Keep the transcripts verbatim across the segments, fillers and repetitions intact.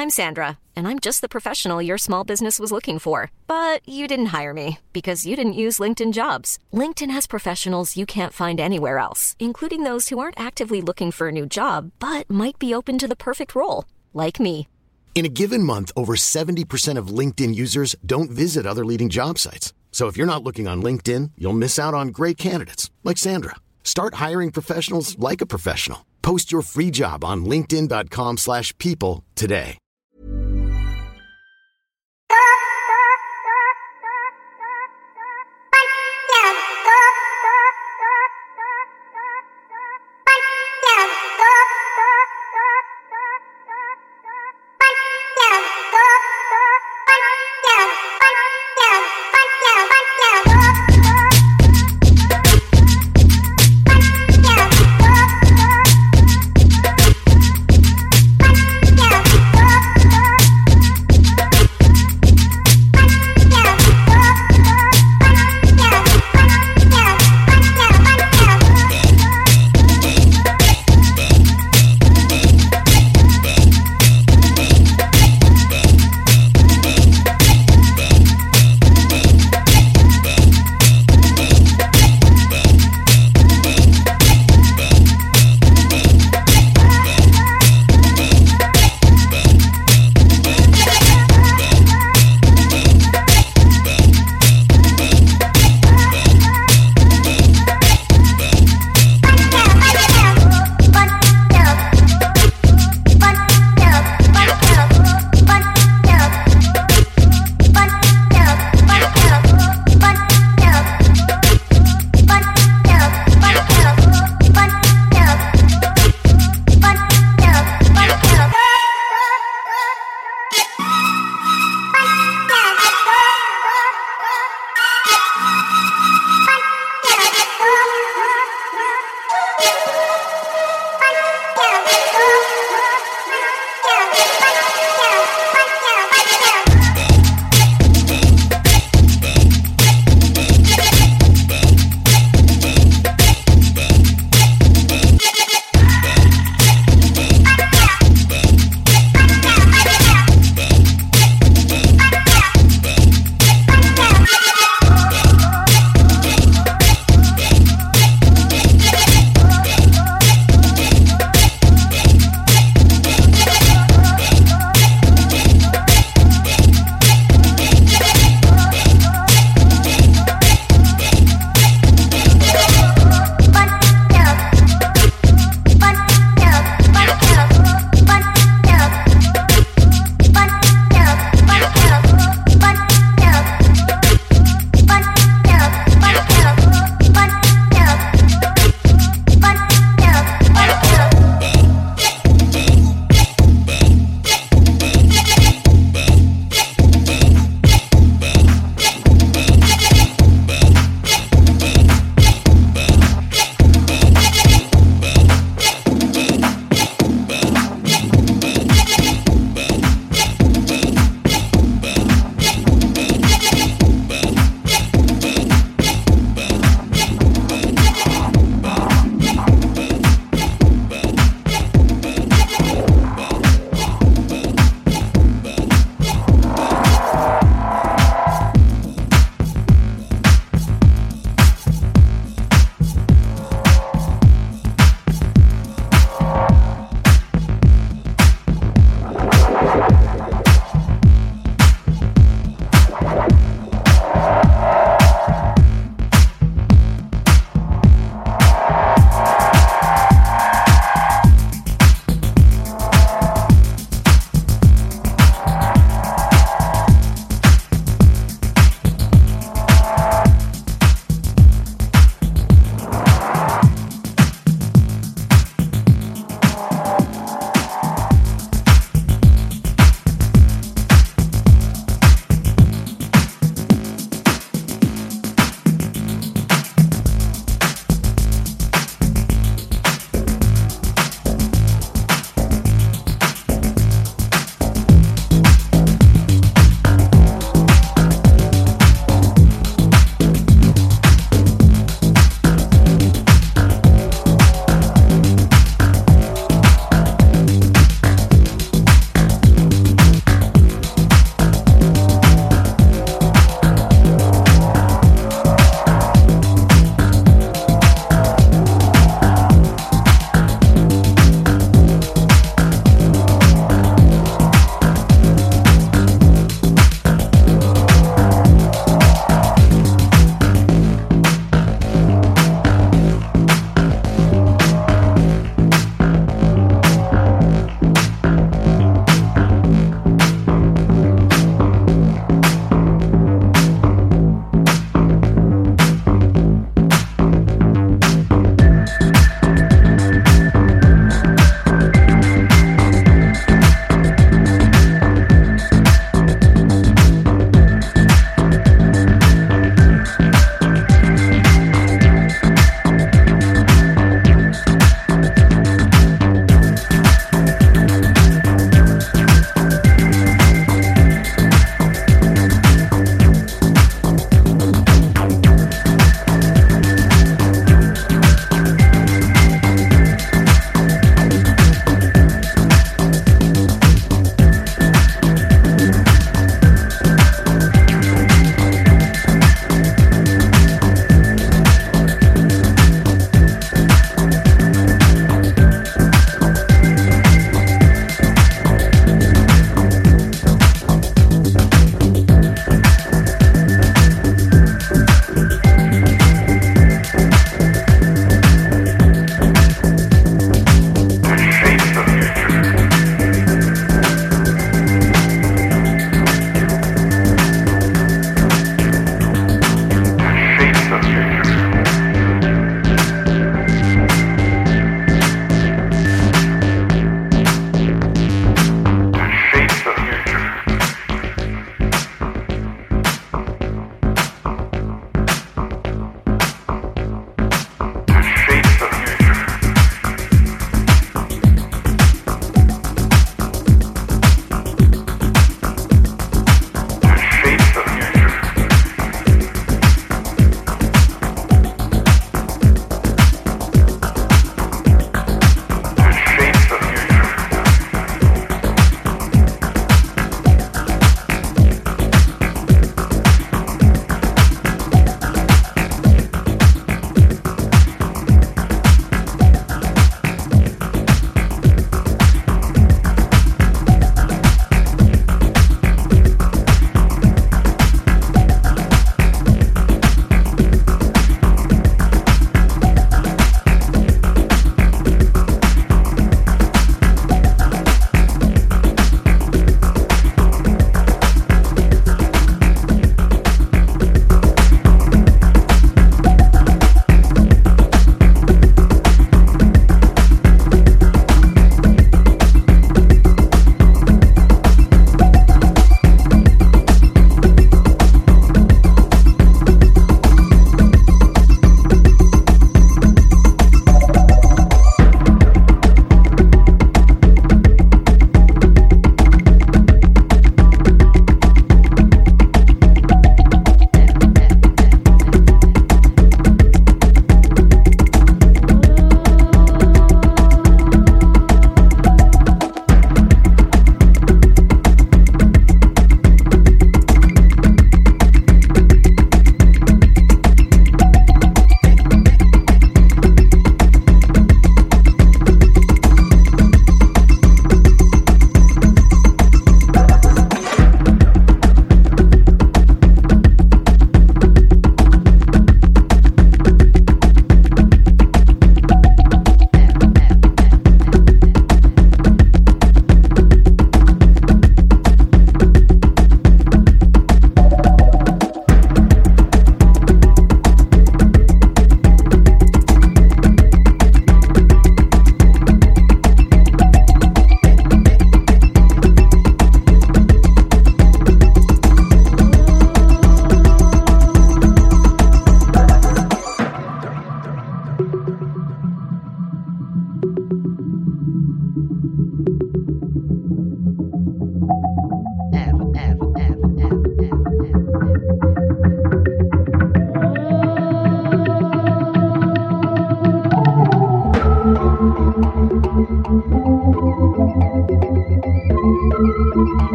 I'm Sandra, and I'm just the professional your small business was looking for. But you didn't hire me because you didn't use LinkedIn Jobs. LinkedIn has professionals you can't find anywhere else, including those who aren't actively looking for a new job, but might be open to the perfect role, like me. In a given month, over seventy percent of LinkedIn users don't visit other leading job sites. So if you're not looking on LinkedIn, you'll miss out on great candidates like Sandra. Start hiring professionals like a professional. Post your free job on linkedin.com slash people today. Yeah.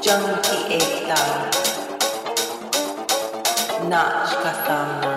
जंग की एकता, नाच का सामना।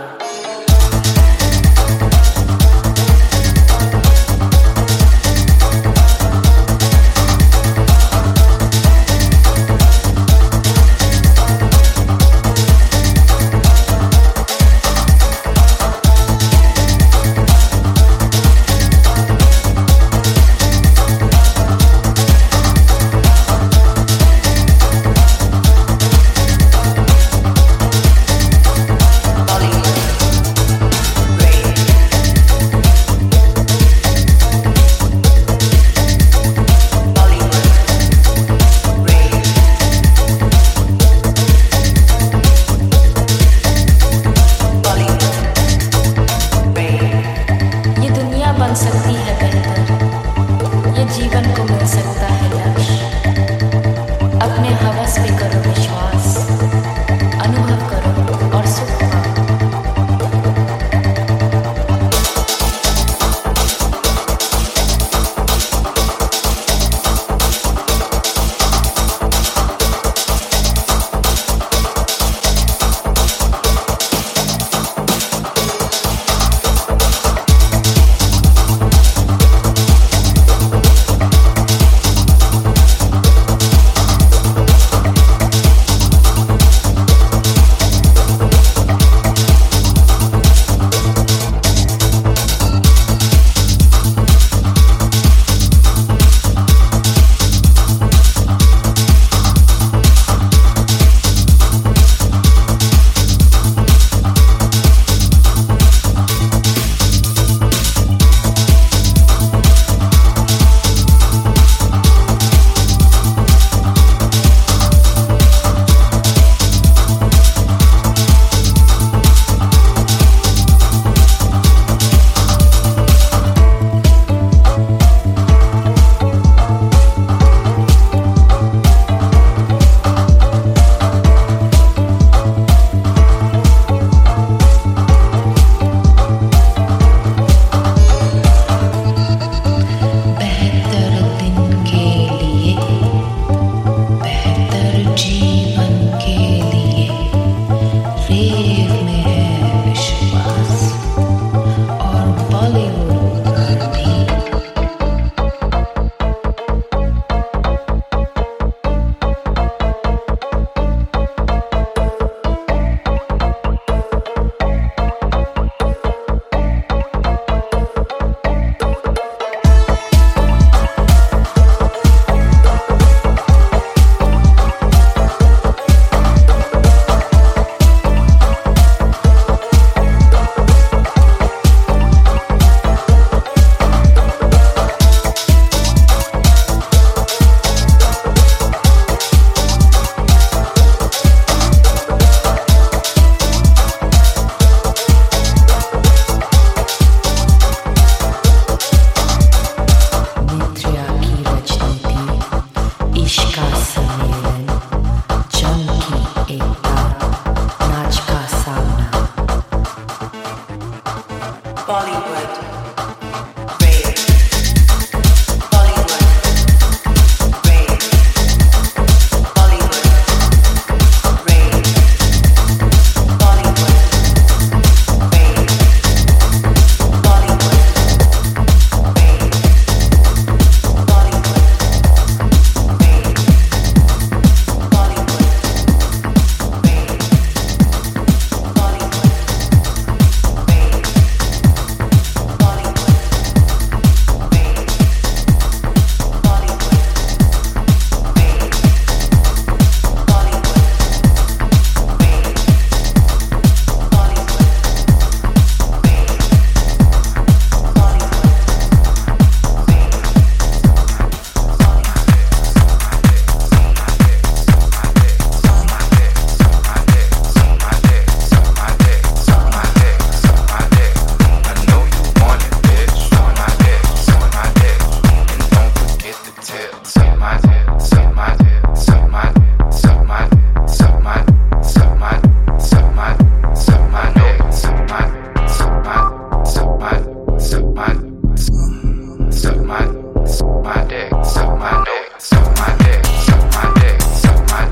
Suck my dick, suck my dick, suck my dick, suck my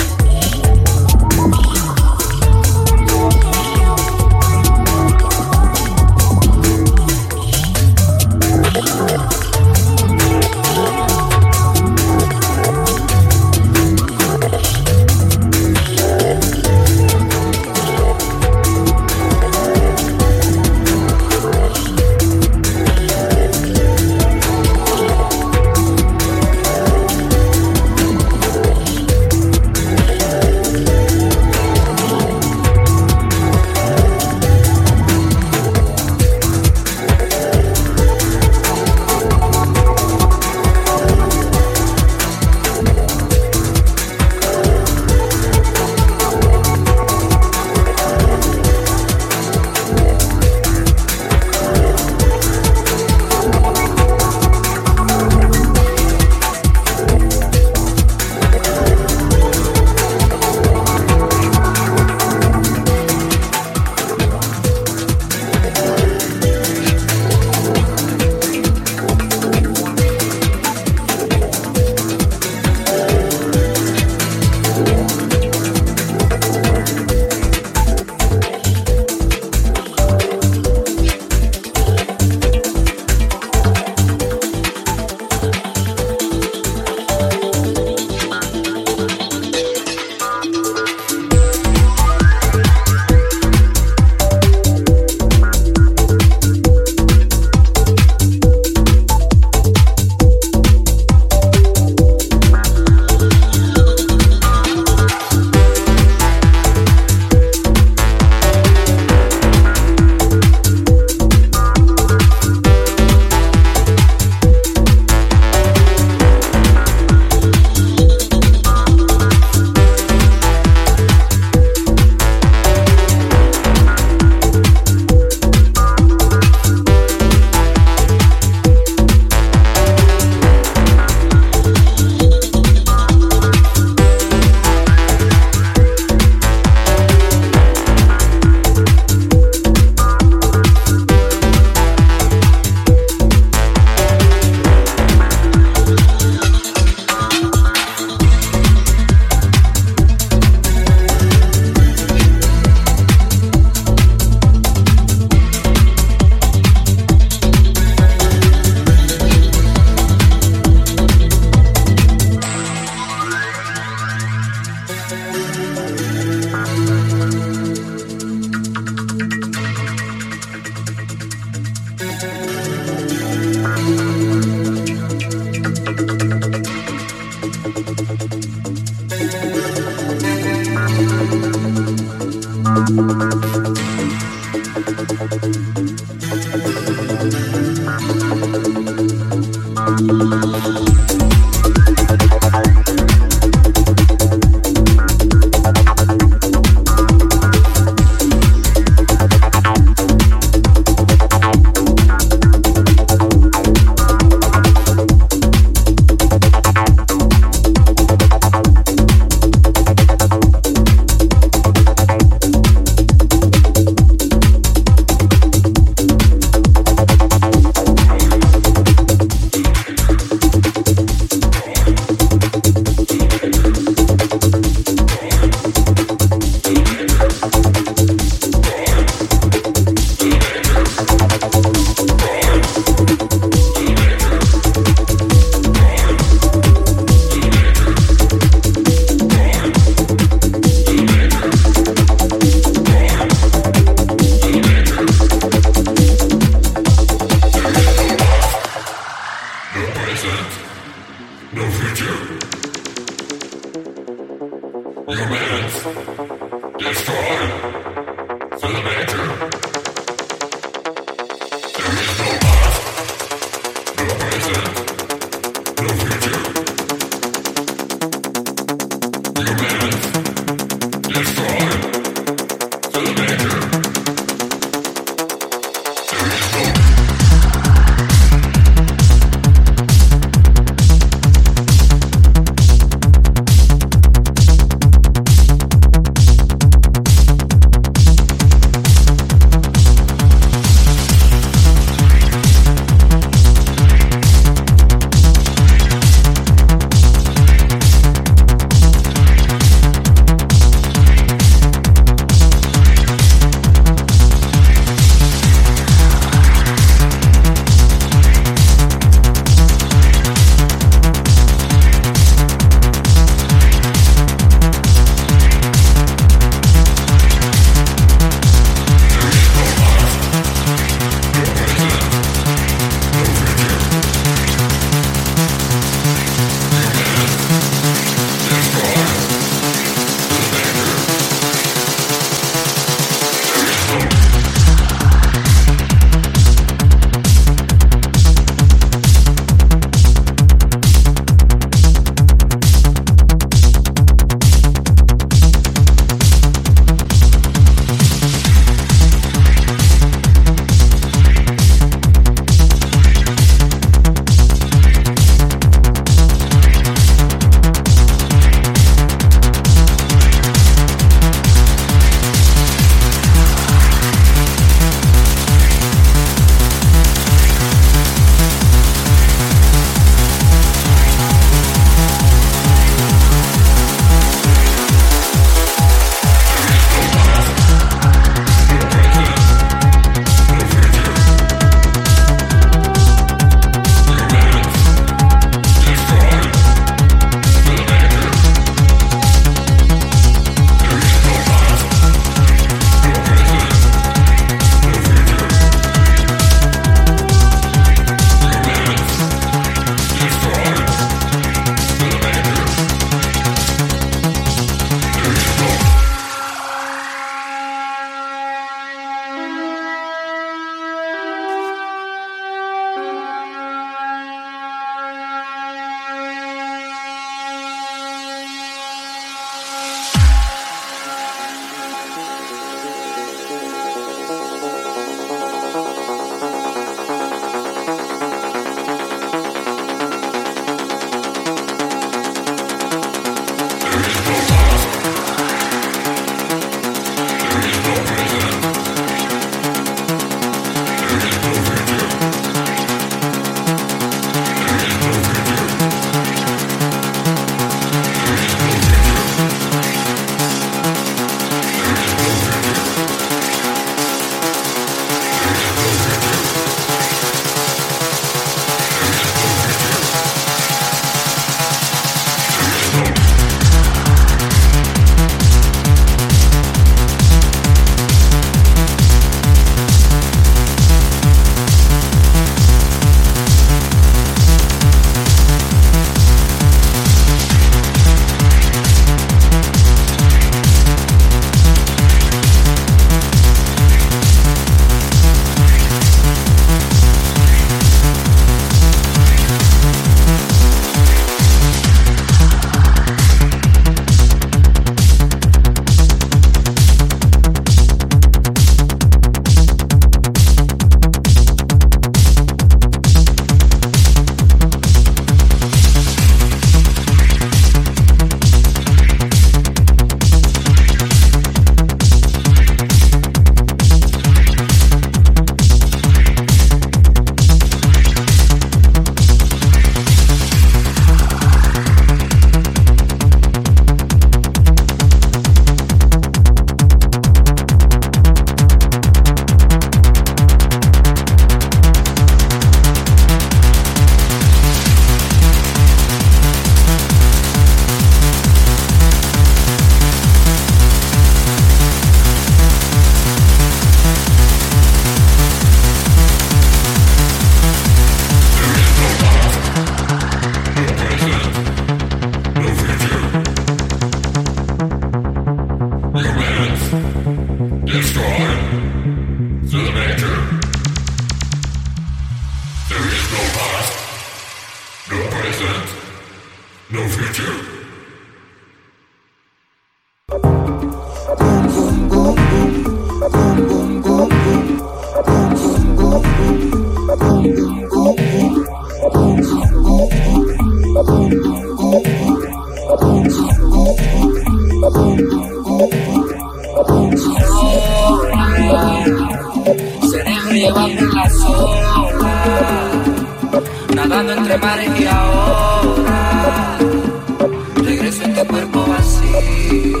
Nadando entre mares y ahora regreso a este cuerpo vacío.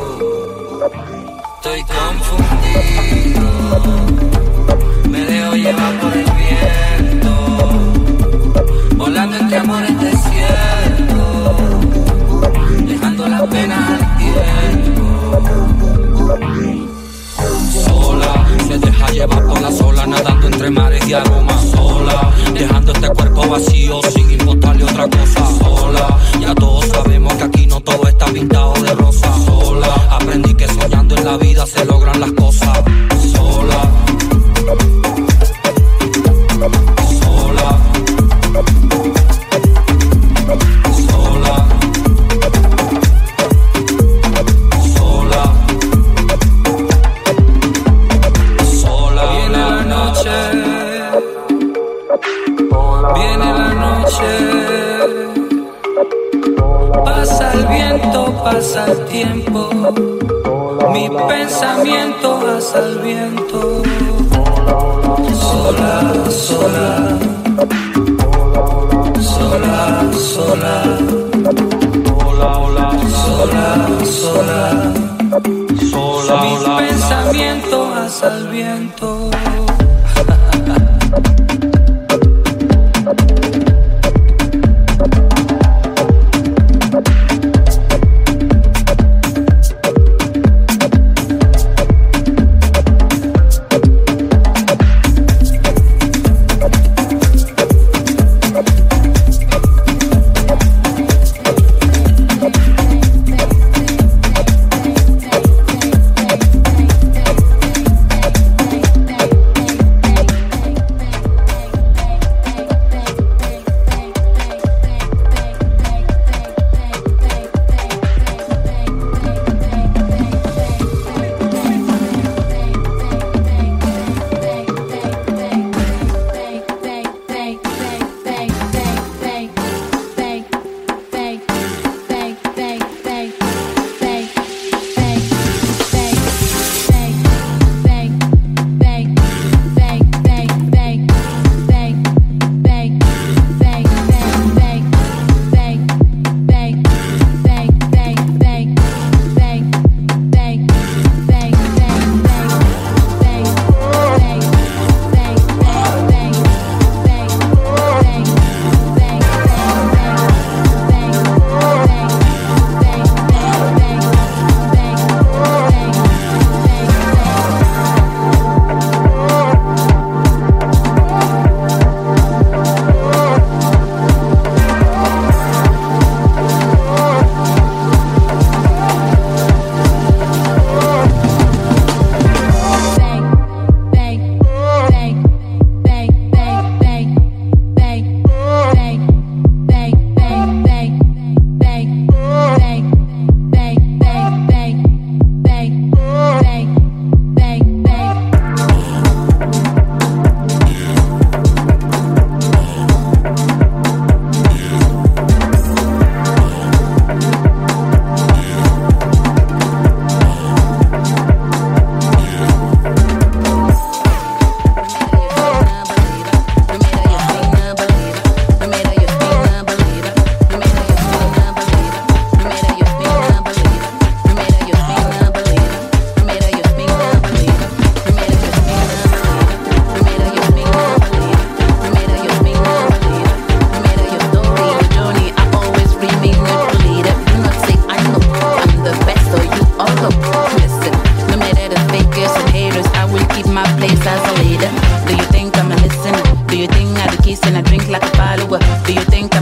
Estoy confundido, me dejo llevar por el viento, volando entre amores desiertos, dejando las penas al tiempo. Sola, se deja llevar por las olas, nadando entre mares y aromas. Sola, dejando este cuerpo vacío sin importarle otra cosa. Sola, ya todos sabemos que aquí no todo está pintado de rosa. Sola, aprendí que soñando en la vida se logran las cosas. Sola, sola, sola, sola, sola. Viene la noche, viene la noche, pasa el viento, pasa el tiempo, mi pensamiento pasa el viento. Sola, sola, sola, sola, sola, sola, sola, sola, mis pensamientos pasa el viento.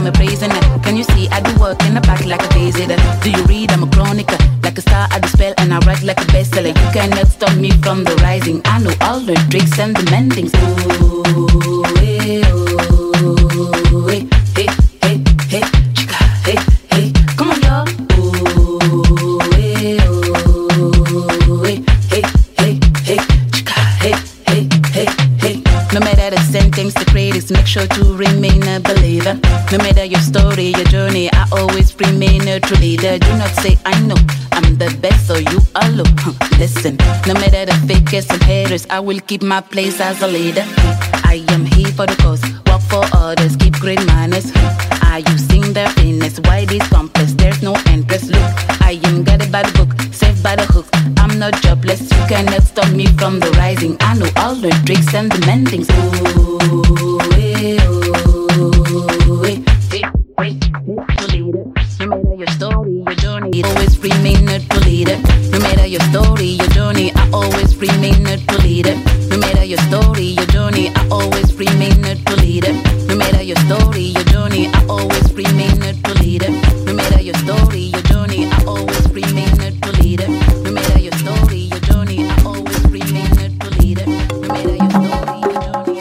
work in the back like a daisy. Do you read? I'm a chronica, like a star, I dispel and and I write like a bestseller. You cannot stop me from the rising. I know all the tricks and the mendings. Ooh, hey, ooh, hey, hey, hey, hey, chica, hey, hey. Come on, y'all. Ooh, hey, ooh, hey, hey, hey, hey, chica, hey, hey, hey, hey. No matter the sentence, the critics, make sure to remain a believer. No matter your story, your journey, I always remain a true leader. Do not say I know I'm the best, so you are low. Huh, listen, no matter the fakers and haters, I will keep my place as a leader. I am here for the cause, work for others, keep great manners. I using their fitness, why this complex? There's no interest. Look, I am guided by the book, saved by the hook. I'm not jobless, you cannot stop me from the rising. I know all the tricks and the mendings. Ooh, hey, ooh, hey, hey, hey, hey, leader. No matter your story, your journey, always remain a true leader. No matter your story, your journey, I always remain a true leader. No matter your story, your journey, I always remain a true leader. No matter your story, your journey, I always remain a true leader. No matter your story, your journey, I always remain a true leader. No matter your story, your journey, I always remain a true leader. No matter your story, your journey.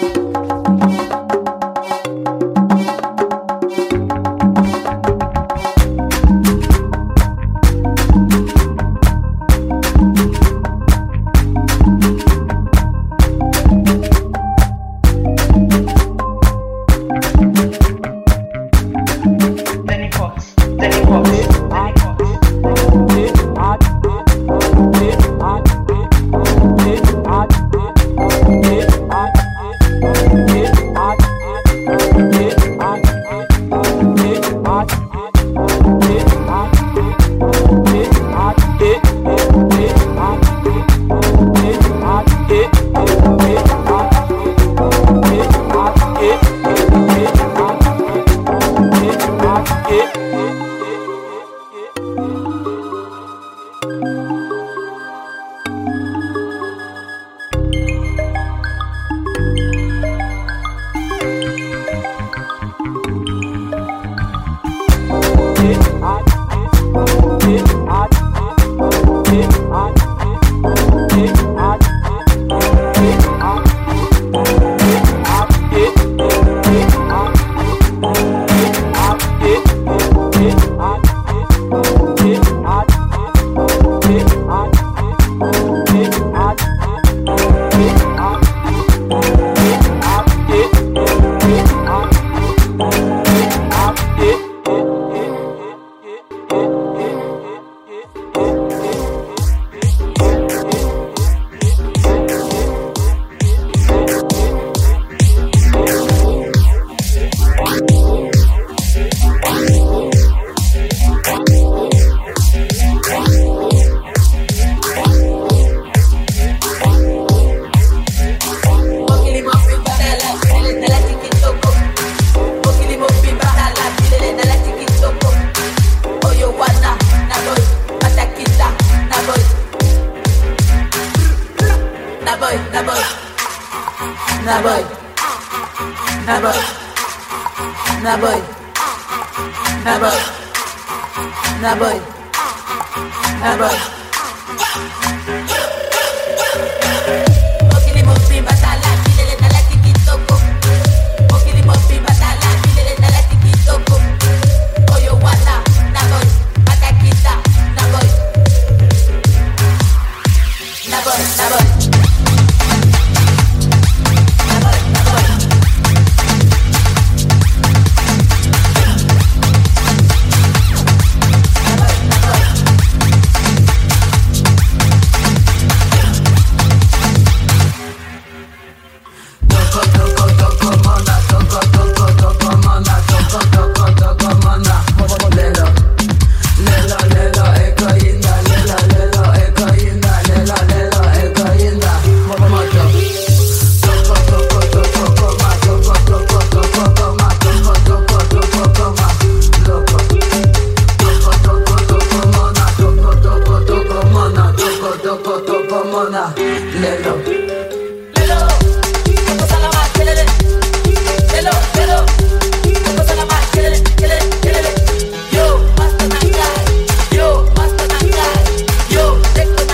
Yo,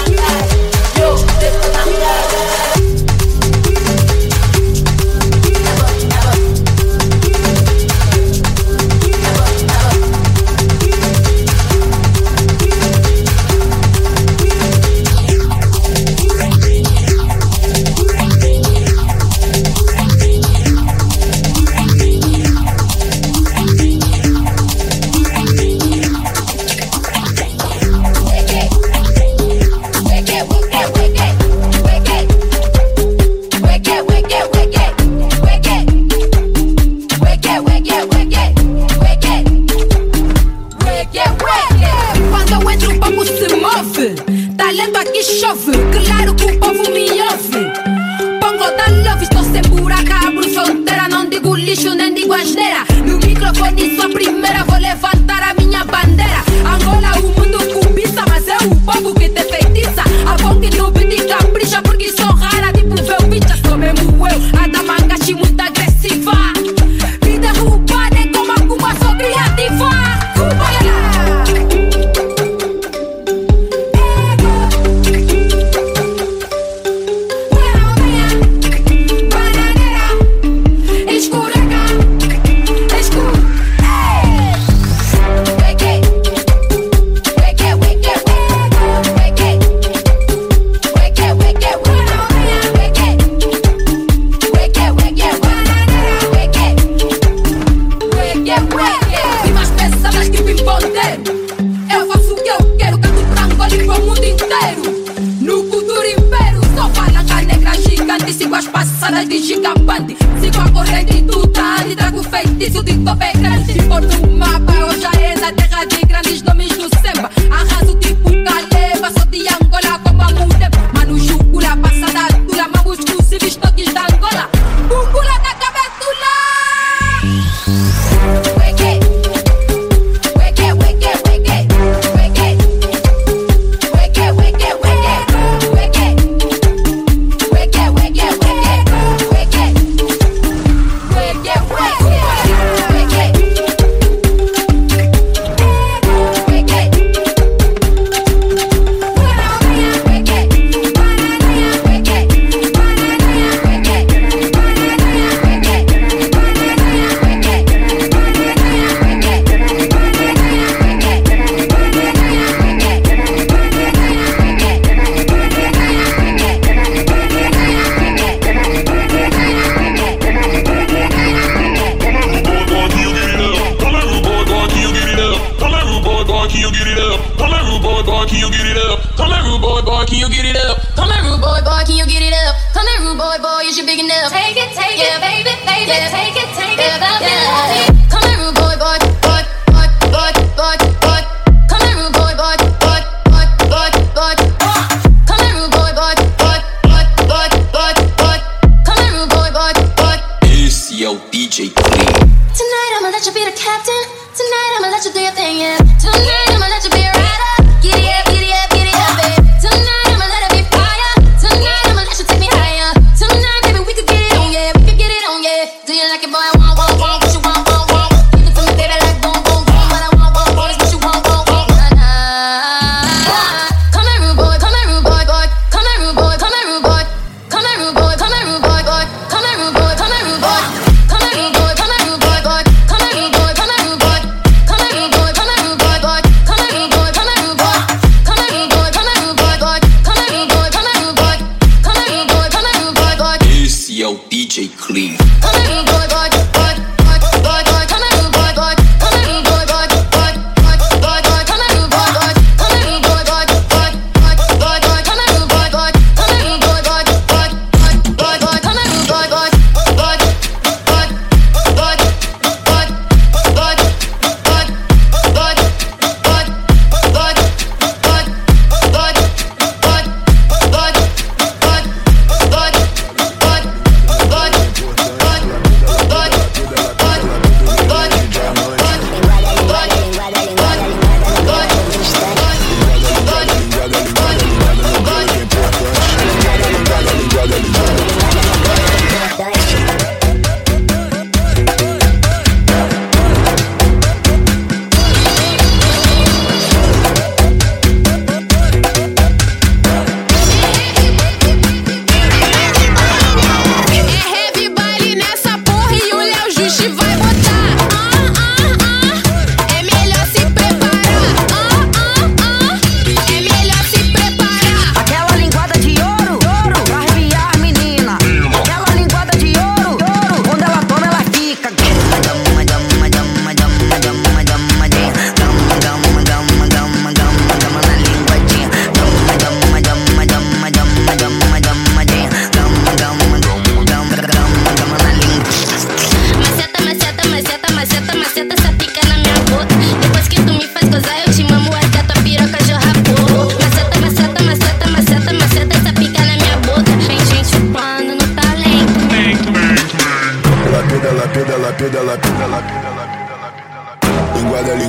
digo asneira. No microfone sua primeira, vou levantar a minha bandeira. Angola, o mundo cobiça, mas é o povo que te feitiça. A bom que no beat capricha, porque sou rara, tipo Velvicha. Sou mesmo eu, a da mangachi muito agressiva. Me derruba, nem como a Cuba, sou criativa. Cuba, de gigabande, sigo a corrente do tal e trago feitiço de tope grande. Por no mapa, hoje és a terra de grandes nomes do samba. Arraso tipo Caleba, sou de Angola como a Mudem. Mano, Júcula, passada dura, mamos exclusivos toques da Angola. Búcula da cabetula. Weke, weke, weke, weke, weke, weke, weke, weke, weke, weke, weke, weke.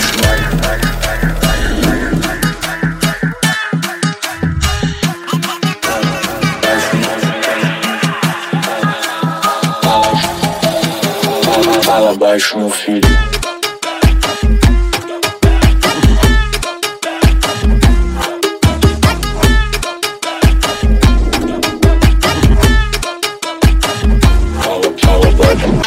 Fala baixo, meu filho. Fala, fala baixo.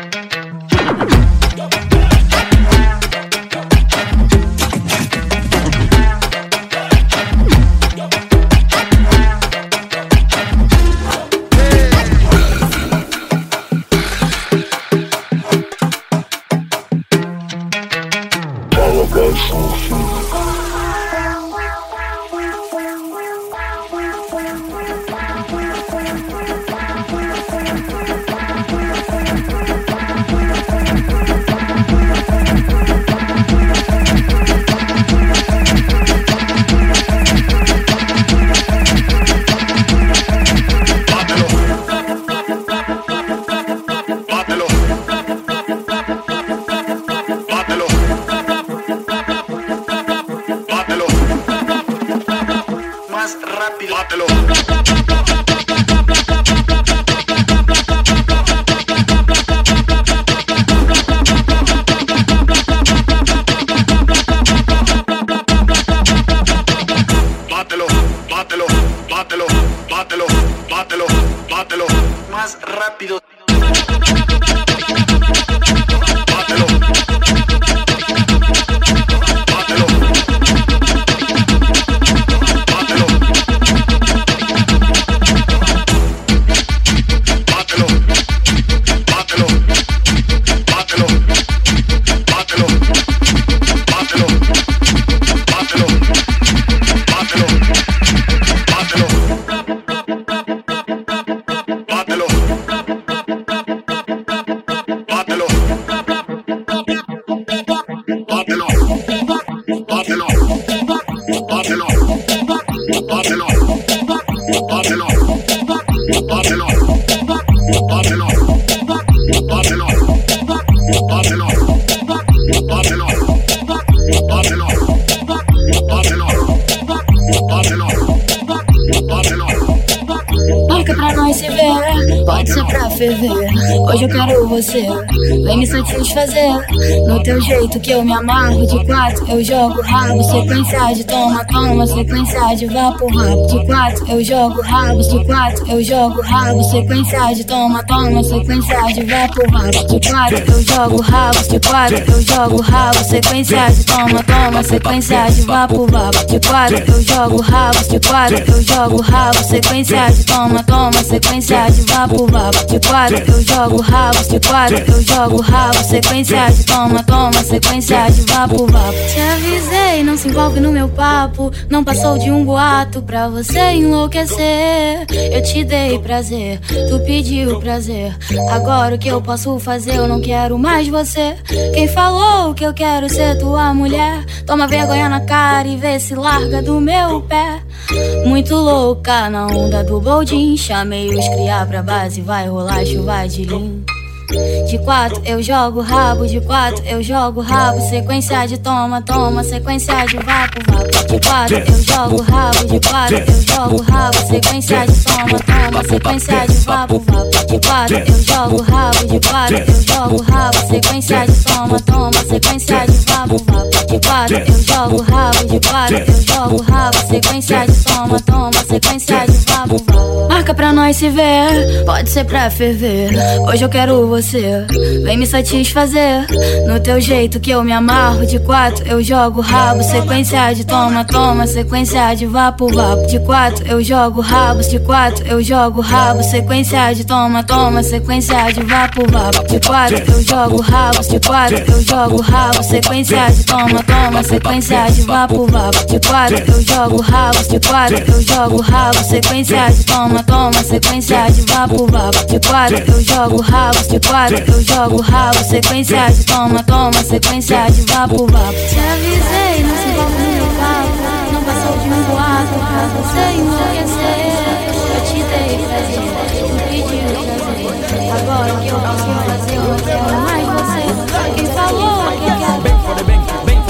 Hoje eu quero você, vem me satisfazer. No teu jeito que eu me amarro. De quatro eu jogo rabo, sequência de toma, toma, sequência de vá pro rabo. De quatro eu jogo rabos, de quatro eu jogo rabo, sequência de toma, toma, sequência de vá pro rabo. De quatro eu jogo rabos, de quatro eu jogo rabo, sequência de toma, toma, sequência de vá pro rabo. De quatro eu jogo rabos, de quatro eu jogo rabo, sequência de toma, toma, sequência de vá pro rabo. De quatro eu jogo rabos, de quatro eu jogo rabo, sequência de toma, toma, sequência de vá pro vapo. Te avisei, não se envolve no meu papo. Não passou de um boato pra você enlouquecer. Eu te dei prazer, tu pediu prazer. Agora o que eu posso fazer? Eu não quero mais você. Quem falou que eu quero ser tua mulher? Toma vergonha na cara e vê se larga do meu pé. Muito louca na onda do boldin. Chamei os cria pra base, vai rolar chuva de lim. De quatro eu jogo rabo, de quatro eu jogo rabo, sequência de toma, toma, sequência de vapo, vapo. De quatro eu jogo rabo, de quatro eu jogo rabo, sequência de toma, toma, sequência de vapo, vapo. De quatro eu jogo rabo, de quatro eu jogo rabo, sequência de toma, toma, sequência de vapo, vapo. De quatro eu jogo rabo, de quatro eu jogo rabo, sequência de toma, toma, sequência de vapo, vapo. Marca pra nós se ver, pode ser pra ferver. Hoje eu quero você, vem me satisfazer. No teu jeito que eu me amarro. De quatro eu jogo rabo, sequência de toma, toma, sequência de vapo, vapo. De quatro eu jogo rabos, de quatro eu jogo rabo, sequência de toma, toma, sequência de vapo, vapo. De quatro eu jogo rabos, de quatro eu jogo rabo, sequência de toma, toma, sequência de vapo, vapo. De quatro eu jogo rabos, de quatro eu jogo rabo, sequência de toma, toma, sequência de vapo, vapo. De quatro eu jogo rabos, de quatro eu jogo rabo, sequência de toma, toma, sequência de vapo, vapo. Te avisei, não se envolve no meu papo. Não passou de um boato pra você enlouquecer. Eu te dei prazer, tu pediu prazer. Agora o que eu posso fazer? Eu não quero mais você. Quem falou que quer?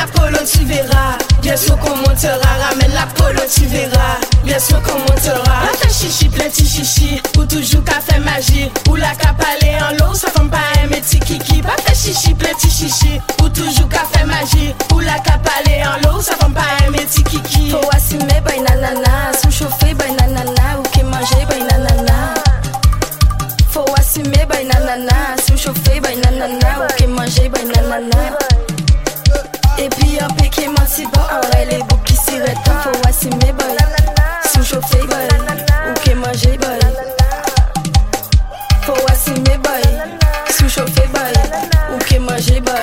la polo, tu verras. Bien sûr qu'on montera, ramène la polo, tu verras. Bien sûr qu'on montera. Pas fait chichi, plein de chichi. Ou toujours qu'à faire magie. Ou la cap aller en l'eau, ça fait pas aimer ti kiki. Pas fait chichi, plein de chichi. Ou toujours qu'à faire magie. Ou la cap aller en l'eau, ça fait pas aimer ti kiki. Faut assumer, boy nanana. Sous chauffer, boy nanana. Ou qui manger, boy nanana. Faut assumer, boy nanana. Sous chauffer, boy nanana. Ou qui manger, boy nanana. Et puis un peu qui menti bon, en vrai les boucs qui s'y rettent. Faut assumer, boy. Sous chauffer, boy. Ou qui manger, boy. Faut assumer, boy. Sous chauffer, boy. Ou qui manger, boy.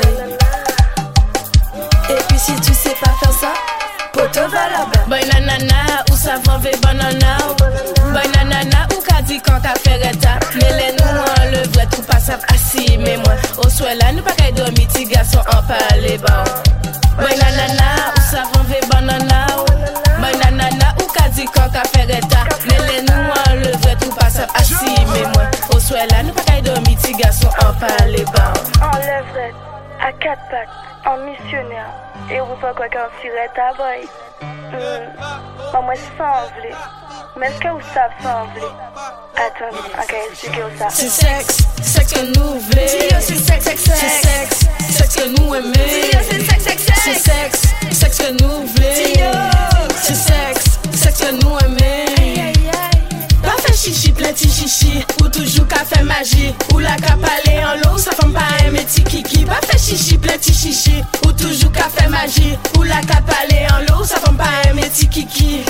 Et puis si tu sais pas faire ça, poto va là-bas. Boy nanana, ou savon ve banana. Boy nanana, ou ka di quand ka fait reta. Mais les nous le vrai tout passe assis. Mais moi, au soir là, nous pas qu'à dormir, ti garçon en parler bon. Boy nanana, ou savon ve banana. Boy nanana, ou ka di quand ka fait reta. Mais les nous le vrai tout passe assis. Mais moi, au soir là, nous pas qu'à dormir, ti garçon en parler bon. En levrette, à quatre pattes, en missionnaire. Et vous faites quoi qu'un siret à boy? Hmm. Moi, je sens envelé. Mais est-ce que vous savez sans envelé? Attends, ok, expliquez vous ça. C'est sexe, sexe que nous voulons. C'est sexe, sexe, sexe. Sexe que nous aimons. C'est sexe, sexe, sexe. C'est sexe, sexe que nous voulons. C'est sexe, sexe que nous aimons. Pas fait chichi, plein de chichi. Ou toujours qu'à faire magie. Ou la cap aller en l'eau, ça fait pas aimer ti kiki. Pas fait chichi, plein de chichi. Ou toujours qu'à faire magie. Ou la cap aller en l'eau, ça fait pas aimer ti kiki.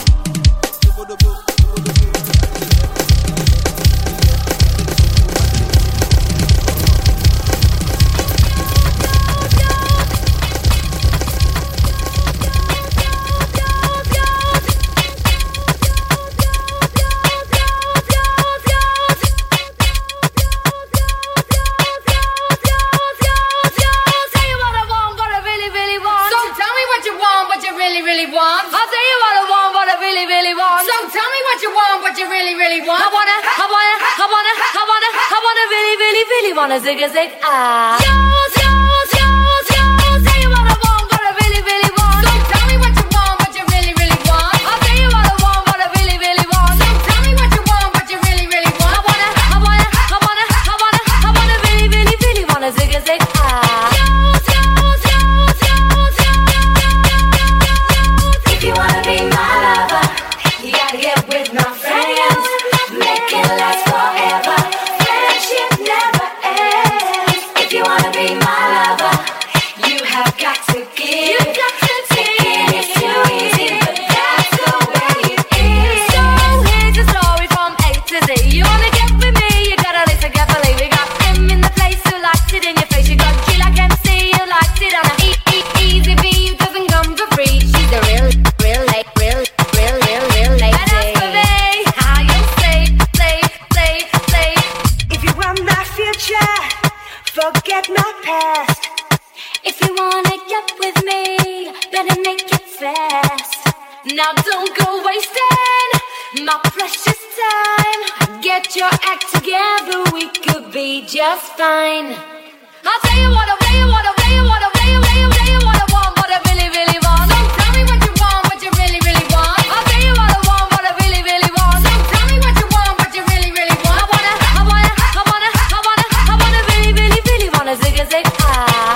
Wanna zig a zig ah. Yours, yours, yours, yours. Say what I want, what I really, really want. So tell me what you want, what you really, really want. I'll tell you what I want, what I really, really want. So tell me what you want, what you really, really want. I wanna, I wanna, I wanna, I wanna, I wanna really, really, really wanna zig a zig ah. Yours, yours, yours, yours, yours. If you wanna be my lover, you gotta get with my friends. Make it last forever. Friendship never. If you wanna be my lover, you have got to give. You got to take. It's too easy, but that's the way it is. So here's the story from A to Z. You wanna get with me, you gotta listen carefully. We got M in the place who likes it in your face. You got G like M C, who likes it on a E E easy V, who doesn't come for free. She's a real, real, like, real, real, real, real lady. And as for me, how you say, say, say, say. If you want my future, forget my past. If you wanna get with me, better make it fast. Now don't go wasting my precious time. Get your act together, we could be just fine. I'll tell you what, I'll tell you what, I'll tell you what, I'll tell you, tell you, tell you what I want, what I really, really want. So tell me what you want, what you really, really want. I'll tell you what I want, what I really, really want. So tell me what you want, what you really, really want. I wanna, I wanna, I wanna, I wanna, I wanna really, really, really wanna zig a zig ah.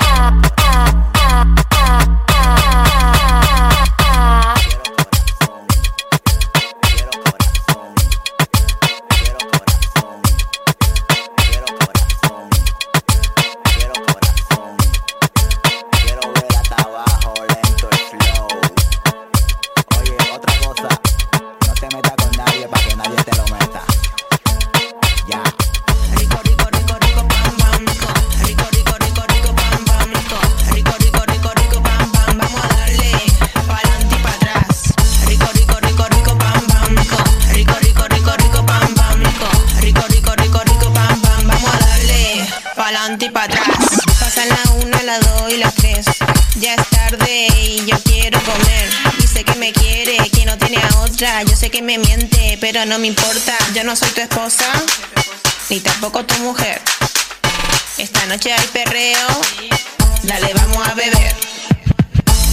Pa'lante y pa' atrás. Pasan la una, la dos y las tres. Ya es tarde y yo quiero comer. Dice que me quiere, que no tiene a otra. Yo sé que me miente, pero no me importa. Yo no soy tu esposa, ni tampoco tu mujer. Esta noche hay perreo, dale vamos a beber.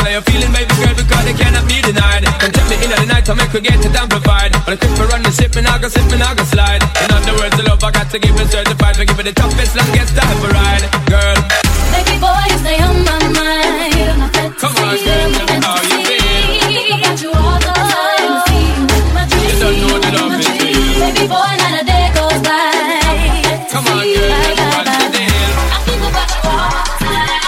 Follow your feeling, baby girl, because they cannot be denied. Don't tell me in the night to make we get it amplified. But I keep me running, ship me, I go slip me, I go slide. In other words, the love I got to give it certified. For give it the toughest, longest time for ride, girl. Baby boy, you stay on my mind. Come on, girl, tell me how you feel. Think about you all the time. My dreams, you don't know the love is real. Baby boy, not a day goes by. Come on, girl, tell me what's the deal. I think about you all the time.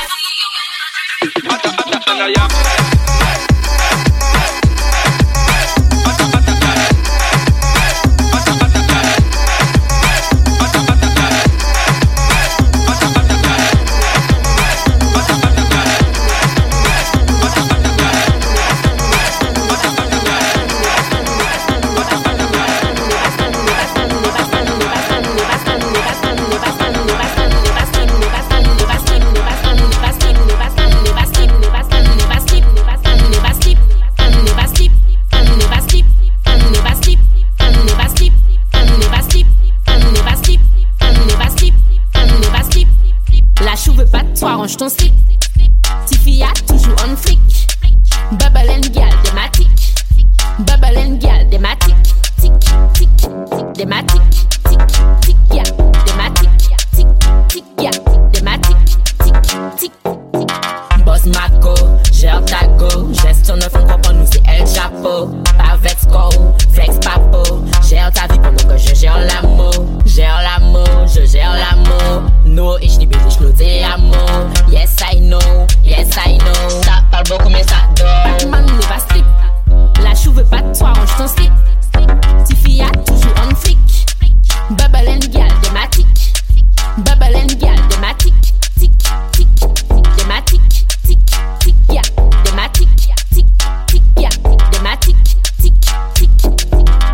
Range ton slip. Tiffy a toujours on flic. Bubble and gal thématique. Bubble and gal thématique. Tic, tic, tic, thématique. Tic, tic, ya, thématique. Tic, tic, ya, thématique. Tic, tic, tic. Boss Mako, gère ta go. Gestion de fonds propre, nous c'est El Chapeau. Pas vex go, flex papo. Gère ta vie pendant que je gère l'amour. Gère l'amour, je gère l'amour. No, ich liebe dich, nur te amo. Yes, I know, yes, I know. Ça parle beaucoup, mais ça dort. Batman ne va slip. La chou veut pas de toi, range ton slip. Tiffy a toujours on flic. Bubble and gal thématique. Bubble and gal thématique. Tic, tic, tic, thématique. Tic, tic, ya, thématique. Tic, tic, ya, thématique. Tic, tic, tic.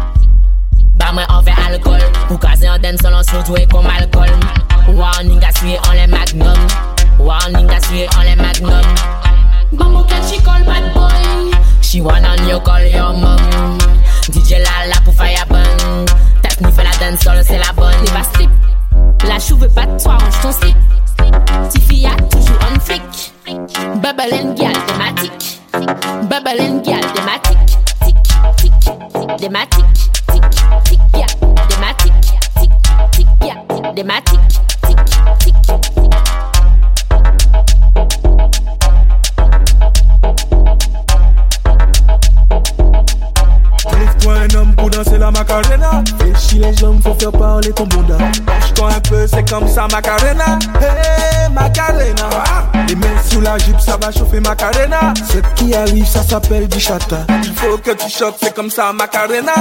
Bah, moi, on fait alcool. Pour caser en den, selon surtout et comme alcool. Warning, à suer en les magnum. Warning, à suer en les magnum. Maman, can she call bad boy? She wanna you call your mom. D J Lala pour fire bang. Tape ni fait la dance solo, c'est la bonne. Il va slip. La chou veut pas de toi, range ton slip. Tiffy a toujours on flic. Bubble and gal thématique. Bubble and gal thématique. Tic, tic, tic, thématique. Tic, tic, ya, thématique. Tic, tic, ya, thématique. Tic, tic, tic. Lève-toi un homme pour danser la Macarena. Fléchis les jambes, faut faire parler ton bonda. Lâche-toi un peu, c'est comme ça Macarena. Hey Macarena. Les mains sous la jupe, ça va chauffer Macarena. Ce qui arrive, ça s'appelle du chata. Il faut que tu choques, c'est comme ça Macarena.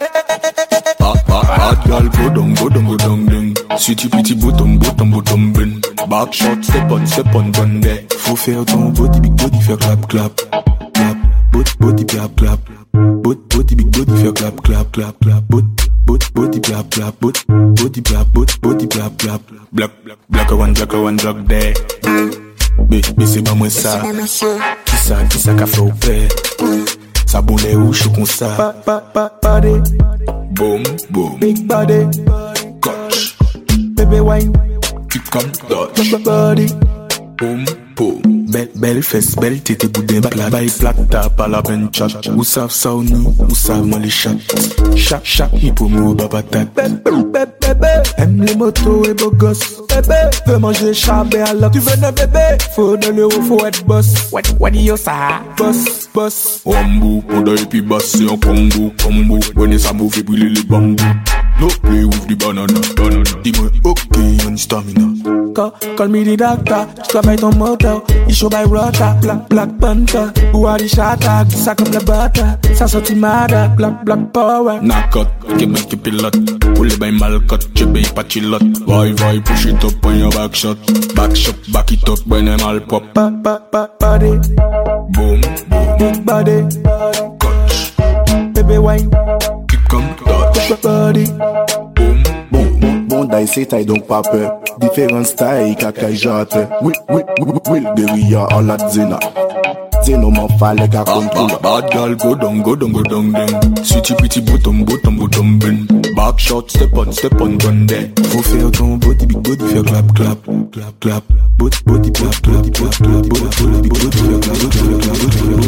Ah ah ah, girl, go down, go down, go down, down. Sweetie pretty bottom, bottom, bottom, ben. Back shot, step on, step on, run there. Faut faire ton body, big body, faire clap, clap, clap. Body, body, clap, clap. Body, body, big body, faire clap, clap, clap, clap. Body, body, body, clap, clap. Body, body, clap, body, body, clap, clap. Black, black one, black one, black there. Mais, mais c'est pas moi ça. Qui ça, qui ça qu'a fait au père? Ça boule où je suis comme ça. Pa, pa, pa, body. Boom, boom. Big body. Coach. Baby wine. Keep come touch. Body. Boom, boom. Belle, belle fesse, belle tété boudin. Plat, bail, plat, tap à la bench chat. Ou savent ça ou ni, ou savent moi les chats. Chaque, chaque, ni pour moi, babatat. Bébé, bébé, aime les motos et beaux gosses. Bébé, veux manger chabé alors tu veux un bébé. Faut de l'euro, faut être boss. What, what do you say? Boss, boss. Ombu, oda et puis basse, c'est un combo, combo. When it's a movie, brûler les bambous. No play with the banana, banana. Dis-moi, ok, on stamina. Call, call me the doctor, je travaille ton moteur. Il show by rota, black, black panther. Ou à shata, ça comme la butter. Ça sortit mada, black, black power. Knock out, give me keep it lot. Pull it by malcut, je paye pas chillot. Vai, vai, push it up on your back shot. Back shot, back it up when I'm all pop. Pa, pa, pa, body. Boom, boom. Big body. Coach. Baby wine. Keep come touch. Body. Boom, boom. Bon d'ail c'est taille donc pas peur. Différents styles cacaille jante. Oui, oui, oui, oui, guérilla en la zina. Zeno m'en fallait qu'à contrôler. Bad girl go down, go down, go down, down. Sweetie pretty bottom, bottom, bottom, ben. Back shot, step on, step on, run there. Faut faire ton body, big body, faire clap, clap, clap, clap. Body, body, clap, clap, clap, clap. Body, body, big body, faire clap, clap, clap,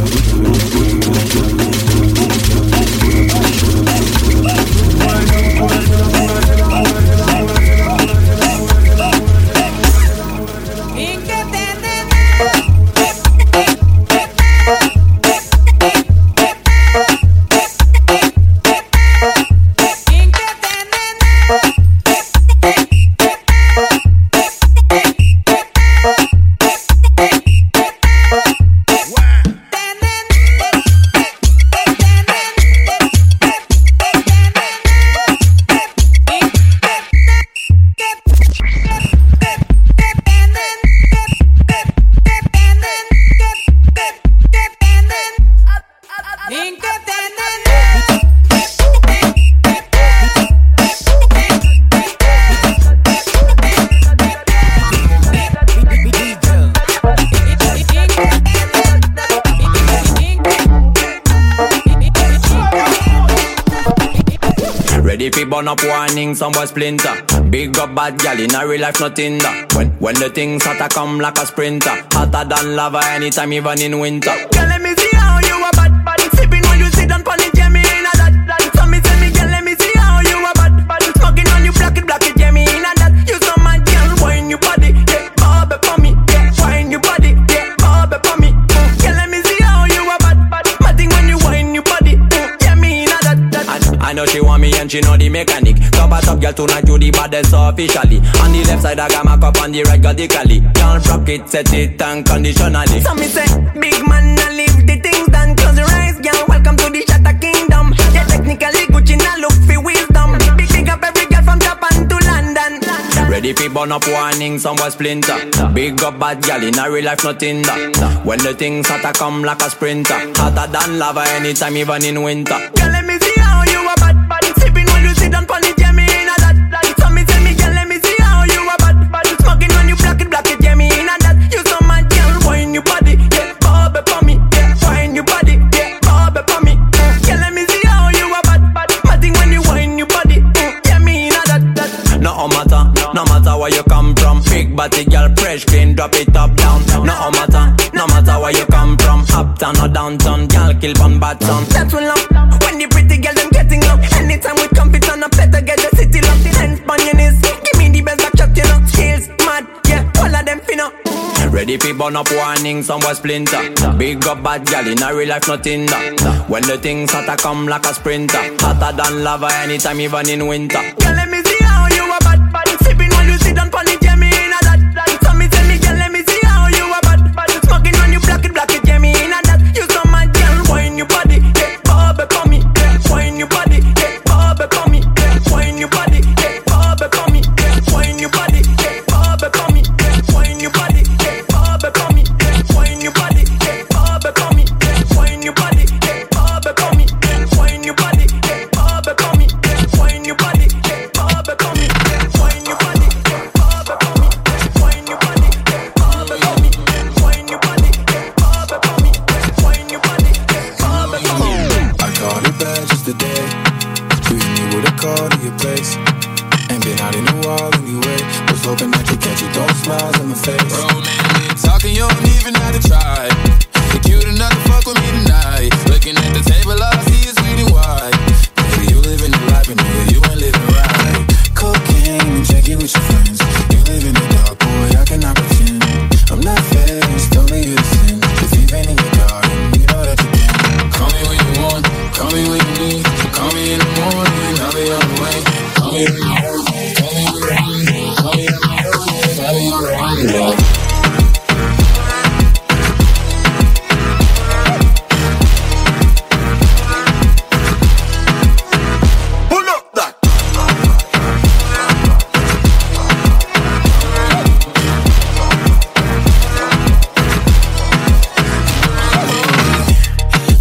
Burn up warning, some boy splinter. Big up bad gal in a real life, nothing that. When when the things hotter come like a sprinter. Hotter than lava anytime, even in winter. Girl, let me see how you a bad, bad. Sipping when you sit down pon it, yeah, me in a that, that. So me tell me, girl, let me see how you a bad, bad. Smoking on you, black it, black it, yeah, me in a that. You so mad, girl, wine your body, yeah, bob it for me, yeah, wine your body, yeah, bob it for me. Girl, let me see how you a bad, bad. Matting when you wine your body, yeah, me in a that, that. I, I know she want me and she know the mechanic. Top a top girl tonight, you the baddest officially. On the left side I got my cup, on the right got the cali. Can't rock it, set it unconditionally. So me say, big man, I leave the things done. Close your eyes, girl, welcome to the Shatter Kingdom. Yeah, technically Gucci, now look for wisdom. Big big up every girl from Japan to London. Ready for burn up warning, some boy splinter. Big up bad gal in a real life, nothing that. When the things hotter come like a sprinter. Hotter than lava anytime, even in winter. Girl, let me see how you a bad, bad. Sipping when you sit down pon it, yeah, me in a that, that. So me tell me, girl, let me see how you a bad, bad. Smoking when you black it, black it, yeah, me in a that. You so mad, girl, wine your body, yeah, bob it for me, yeah, wine your body, yeah, bob it for me. Girl, let me see how you a bad, bad. Matting when you wine your body, yeah, me in a that, that. No matter, no matter where you come from. Big body girl, fresh, clean, drop it up, down. No matter, no matter where you come from. Uptown or downtown, girl, kill from bad town. That's when love, when the pretty girl them getting love. Anytime we compete on a better get the city love. The hands on your knees, give me the best back shot, you know. Skills, mad, yeah, all of them finna. Ready for burn up warning, some boy splinter. Big up bad gal in a real life, nothing that. When the things hotter come like a sprinter. Hotter than lava anytime, even in winter. Girl, let me see how you a bad, bad. Sipping when you sit down pon it, yeah, me in a that, that. So me tell me, girl, let me see how you a bad, bad. Smoking when you black it, black it, yeah, me in a that. You so mad, girl, wine your body, yeah, bob it for me, yeah, wine your body, yeah, bob it for me, yeah, wine your body, yeah, bob it for me, yeah, wine your body, yeah, bob it for me, yeah, wine your body, yeah, bob it for me, yeah, wine your body, yeah, bob it for me, yeah, wine your body, yeah, bob it for me, yeah, wine your body, yeah, bob it for me, yeah, wine your body, yeah, bob it for me, yeah, wine your body, yeah, bob it for me, yeah, wine your body, yeah, bob it for me, yeah, wine your body, yeah, bob it for me, yeah, wine your body, yeah, bob it for me. I called it back just today. You hit me with a call to your place. Ain't been out in a while anyway. Was hoping that you catch it, don't smiles on my face. Bro, man, we talking, you don't even have to try. You're cute enough to fuck with me tonight. Looking at the table, all I see is sweet and white. Baby, you living the life, and nigga, you ain't living right. Cocaine and drinking with your friends. You live in the dark, boy, I cannot pretend. I'm not faced, don't be you to sin. If you've been in your garden, you know that you can. Call me when you want, call me when you need. Call me in the morning, I'll be on the way. Call me when you want, call me when you need. Call me in the morning, I'll be on the way.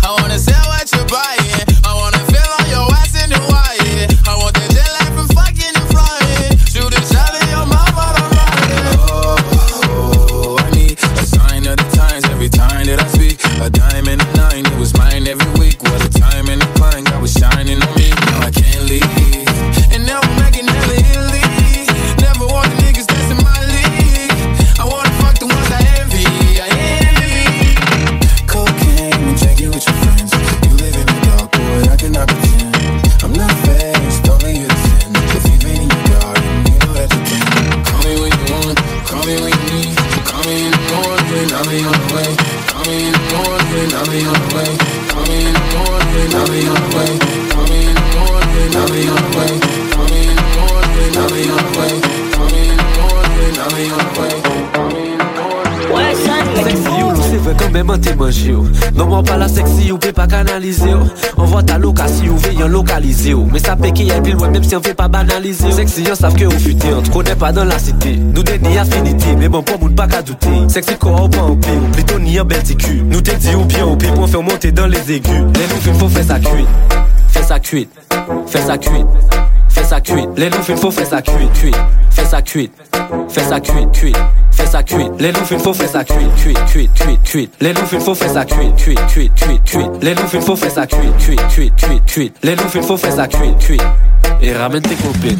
Fucking manger. Non, moi pas la sexy, ou peut pas canaliser. On voit ta location, ou veillant localiser. Mais ça paie qu'il y a pile loin, même si on fait pas banaliser. Sexy, on savent que vous futez, on te connaît pas dans la cité. Nous t'es ni affinité, mais bon, pour moun pas qu'à douter. Sexy quoi, ou pas au pied, ou plutôt ni en bel ticu. Nous t'es dit ou bien au pied, pour faire monter dans les aigus. Les loups, il faut faire ça cuite, faire ça cuite, faire ça cuite. Fais ça cuite, les loups il faut faire ça cuite, cuite. Fais ça cuite, fais ça cuite, cuite. Fais ça cuite, les loups il faut faire ça cuite, cuite, cuite, cuite, cuite. Les loups il faut faire ça cuite, cuite, cuite, cuite, cuite. Les loups il faut faire ça cuite, cuite, cuite, cuite, cuite. Les loups il faut faire ça cuite, cuite. Et ramène tes copines.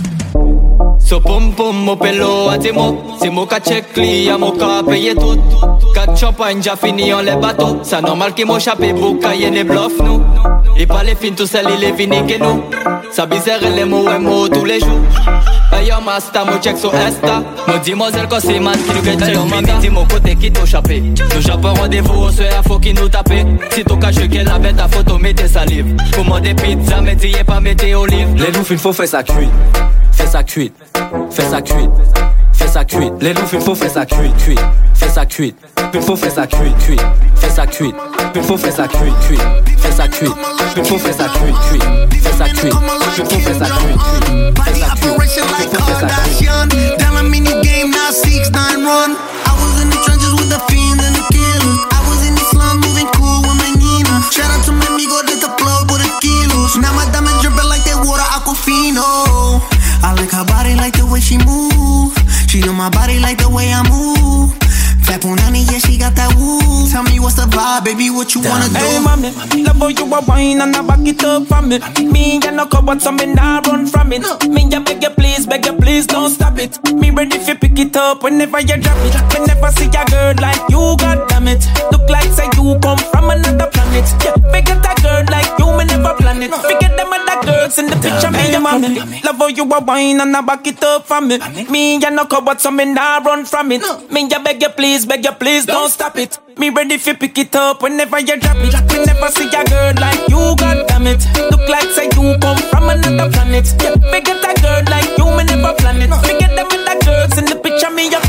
So pom pom mo pelo a ti mo. Si mo ka check li a mo ka paye tout. Kat champagne ja fini en les bateaux. Ça normal ki mo chape pou ka yene bluff nou. Et pas les fins tout seul il est fini que nous. Ça bizarre les mots et mots tous les jours. Hey yo master mo check so esta. Mo demoiselle quand c'est man qui nous get check manga. Dis mon côté qui t'o chapé. Nous japon rendez-vous on se a faut qui nous tape. Si t'o ka jeter la bête à photo mettez salive. Commandez pizza mettez pas mettez olive. Les loups il faut faire ça cuite. Fais ça cuite, fais ça cuite, fais ça cuite. Les loups il faut faire ça cuite, cuite. Fais ça cuite, il faut faire ça cuite, cuite. Fais ça cuite, il faut faire ça cuite, cuite. Fais ça cuite, il faut faire ça cuite, cuite. Fais ça cuite, il faut faire ça cuite, cuite. Fais ça cuite, il faut faire ça cuite. Down a mini game, now six nine run. I was in the trenches with the fiends and the killers. I was in the slum moving cool with my Nina. Shout out to my amigo, did the plug with the kilos. Now my diamonds dripping like that water Aquafino. I like her body, like the way she move. She know my body, like the way I move. Fat punani, yeah, she got that woo. Tell me what's the vibe, baby, what you wanna do? Hey, mommy, love how you a wine and I back it up for me. Me and no cupboard, so me nah run from it. Me ya beg you please, beg you please, don't stop it. Me ready if you pick it up whenever you drop it. Whenever see a girl like you, god damn it. Look like say you come from another planet. Yeah, forget a girl like you, me never plan it. Forget them other girls in the picture, me and mommy. Love how you a wine and I back it up for me. Me and no cupboard, so me nah run from it. Me ya beg you please, beg you please, don't stop it. Me ready if you pick it up whenever you drop it. We never see a girl like you, god damn it. Look like say you come from another planet. Yeah, forget a girl like you, me never plan it. Forget them other girls in the picture, me ya.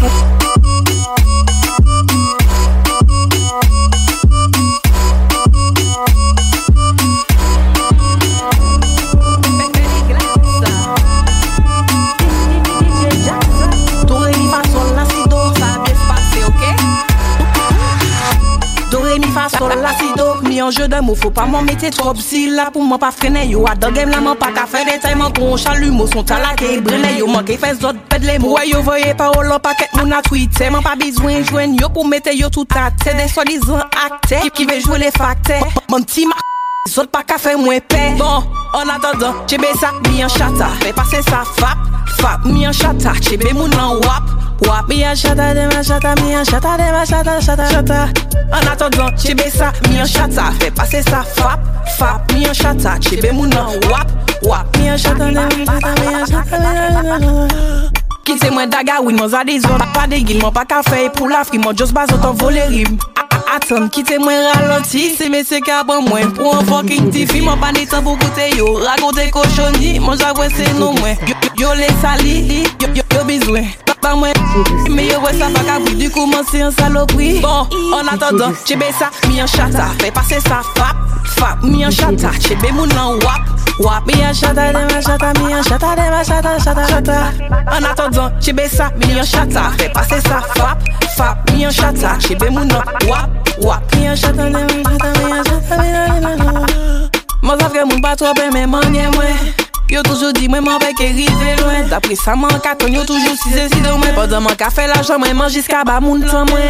Sol la si do, mi en jeu de mots, faut pas m'en mettre trop si là pour moi pas freiner yo. A dans game là m'en pas qu'à faire des tailles, m'en con chalumeau son talaké brûlé yo, manqué fait d'autres pède les mots. Ouais yo voyez parole en paquet mon a tweeté, m'en pas besoin joindre yo pour mettre yo tout à tête des soi-disant acteurs qui veut jouer les facteurs. Mon petit ma les autres pas qu'à faire moins paix. Bon, en attendant, j'ai ça, mi en chata, fais passer ça fap, fap, mi en chata, j'ai mon en wap. Wap, mi en chata, de ma chata, mi en chata, de ma chata, chata, chata. En attendant, j'ai ça, mi en chata, fais passer ça fap, fap, mi en chata, j'ai mon en wap, wap, mi en chata, de ma chata, mi en chata. Qui c'est moi daga, oui, mon zadis, pas de guillemets, pas qu'à faire pour l'Afrique, mon just bas autant voler rime. Attends, quittez-moi ralenti, c'est messieurs qui a bon moins. Pour un fucking tifi, mon pas ni temps pour goûter yo. Raconter cochonnier, mon j'avoue c'est nous moins. Yo les sali, yo yo yo besoin. Pas moins, mais yo ouais ça pas qu'à bout du coup mon c'est un saloperie. Bon, en attendant, j'ai ça, mi en chata, fais passer ça fap, fap, mi en chata, j'ai mon en wap. Wap, mi en chata, de ma chata, mi en chata, de ma chata, chata, chata. En attendant, j'ai ça, mi en chata, fais passer ça fap, fap, mi en chata, j'ai mon en wap. Wap, mi en chata, de ma chata, mi en chata, mi en chata. Moi ça fait mon pas trop mais manier moi. Yo toujours dit moi m'en vais qu'arriver loin. D'après ça mon carton yo toujours si c'est si de moi. Pendant mon café l'argent moi mange jusqu'à bas mon temps moi.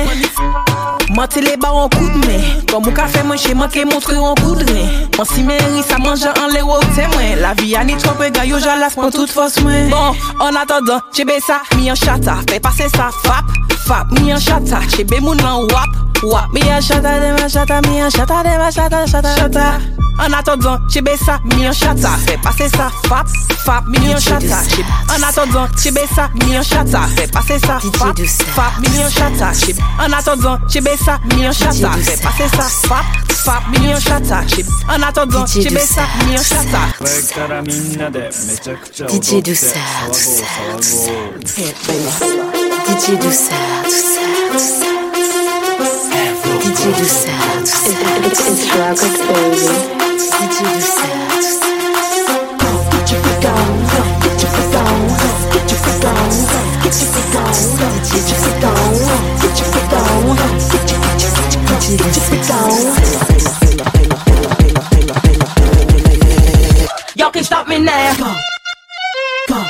Moi les bas en coup de main. Comme mon café moi chez moi qui montre en coup de main. Moi si mairie ça mange en les haut c'est moi. La vie a ni trop peu gars yo j'alas pour toute force moi. Bon en attendant j'ai ça mi en chata fais passer ça fap fap mi en chata j'ai mon en wap wap mi en chata de ma chata mi en chata de ma chata chata chata. En attendant, j'ai ça, mi en chata, fais passer ça, fap, fap, mi en chata. En attendant, j'ai ça, mi en chata, fais passer ça, fap, fap, mi en chata. En attendant, j'ai ça, mi en chata, fais passer ça, fap, fap, mi en chata. En attendant, j'ai ça, mi en chata. D J douceur, douceur, douceur. D J douceur, douceur, douceur. D J D J Douceur, Douceur. It's, it's Rockets, baby. D J Douceur, Douceur. Get your freak on, get your freak on, get your freak on, get your freak on, get your freak on, get your freak on, get your get your get your get your freak on. Y'all can stop me now. Go, go.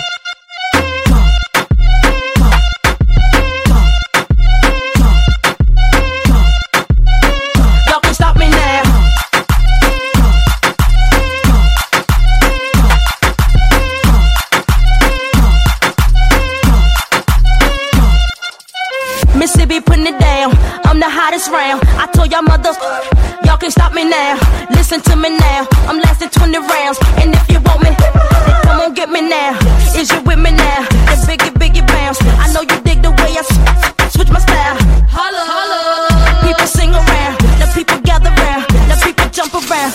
Mississippi putting it down, I'm the hottest round. I told y'all mothers, y'all can stop me now. Listen to me now, I'm lasting twenty rounds. And if you want me, then come on get me now. Is you with me now? The biggie, biggie bounce. I know you dig the way I s- switch my style. Holla, holla. People sing around, the people gather round, the people jump around.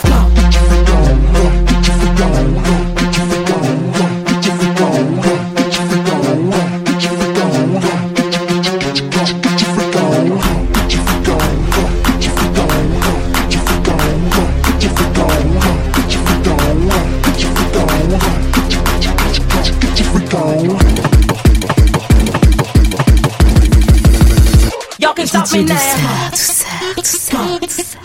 Y'all can stop me now. Douceur, douceur, douceur.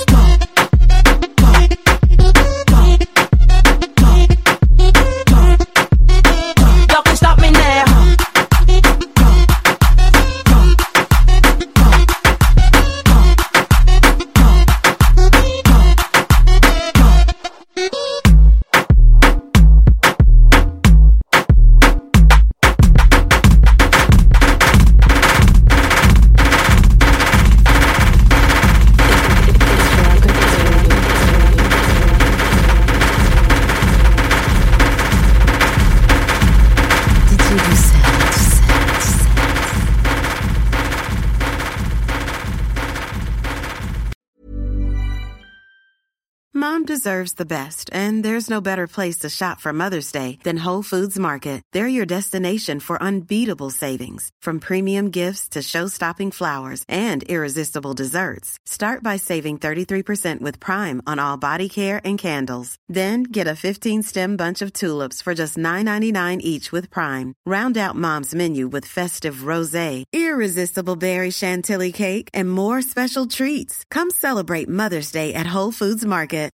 Y'all can stop me now. Mom deserves the best, and there's no better place to shop for Mother's Day than Whole Foods Market. They're your destination for unbeatable savings, from premium gifts to show-stopping flowers and irresistible desserts. Start by saving thirty-three percent with Prime on all body care and candles. Then get a fifteen-stem bunch of tulips for just nine ninety-nine each with Prime. Round out Mom's menu with festive rosé, irresistible berry chantilly cake, and more special treats. Come celebrate Mother's Day at Whole Foods Market.